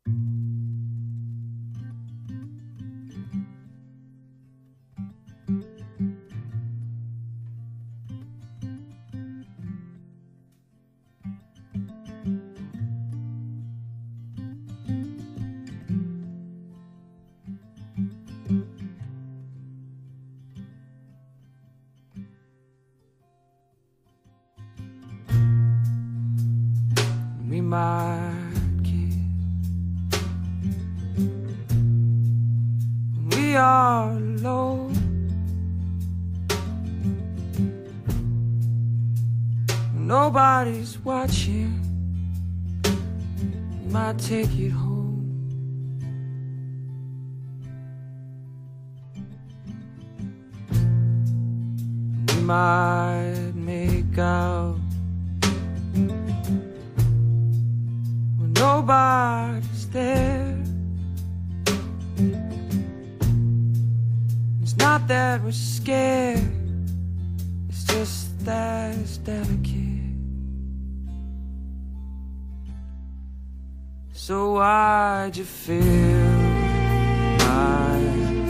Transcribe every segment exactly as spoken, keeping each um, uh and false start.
We might kiss when we are alone, when nobody's watching. We might take it home. We might make out nobody's there. It's not that we're scared, it's just that it's delicate. So why'd you fill my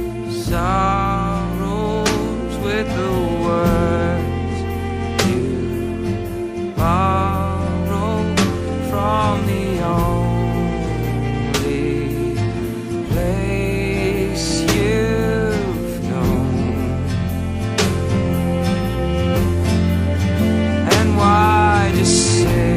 sorrows with the words you borrowed from the only place you've known? And why just say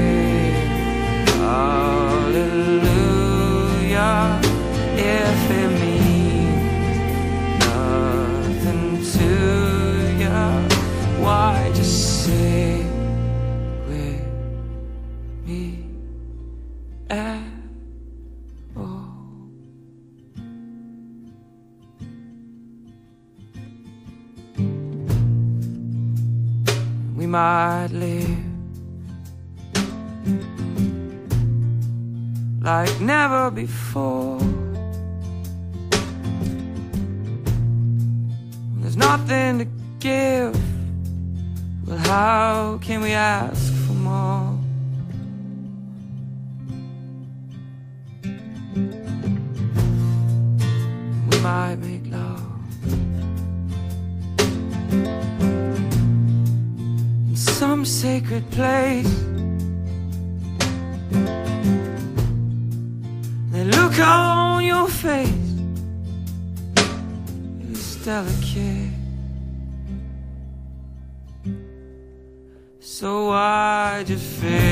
hallelujah if it means nothing to you? Why just say with me at all? We might live like never before. When there's nothing to give, well, how can we ask for more? We might make love in some sacred place. The look on your face is delicate. So why'd you feel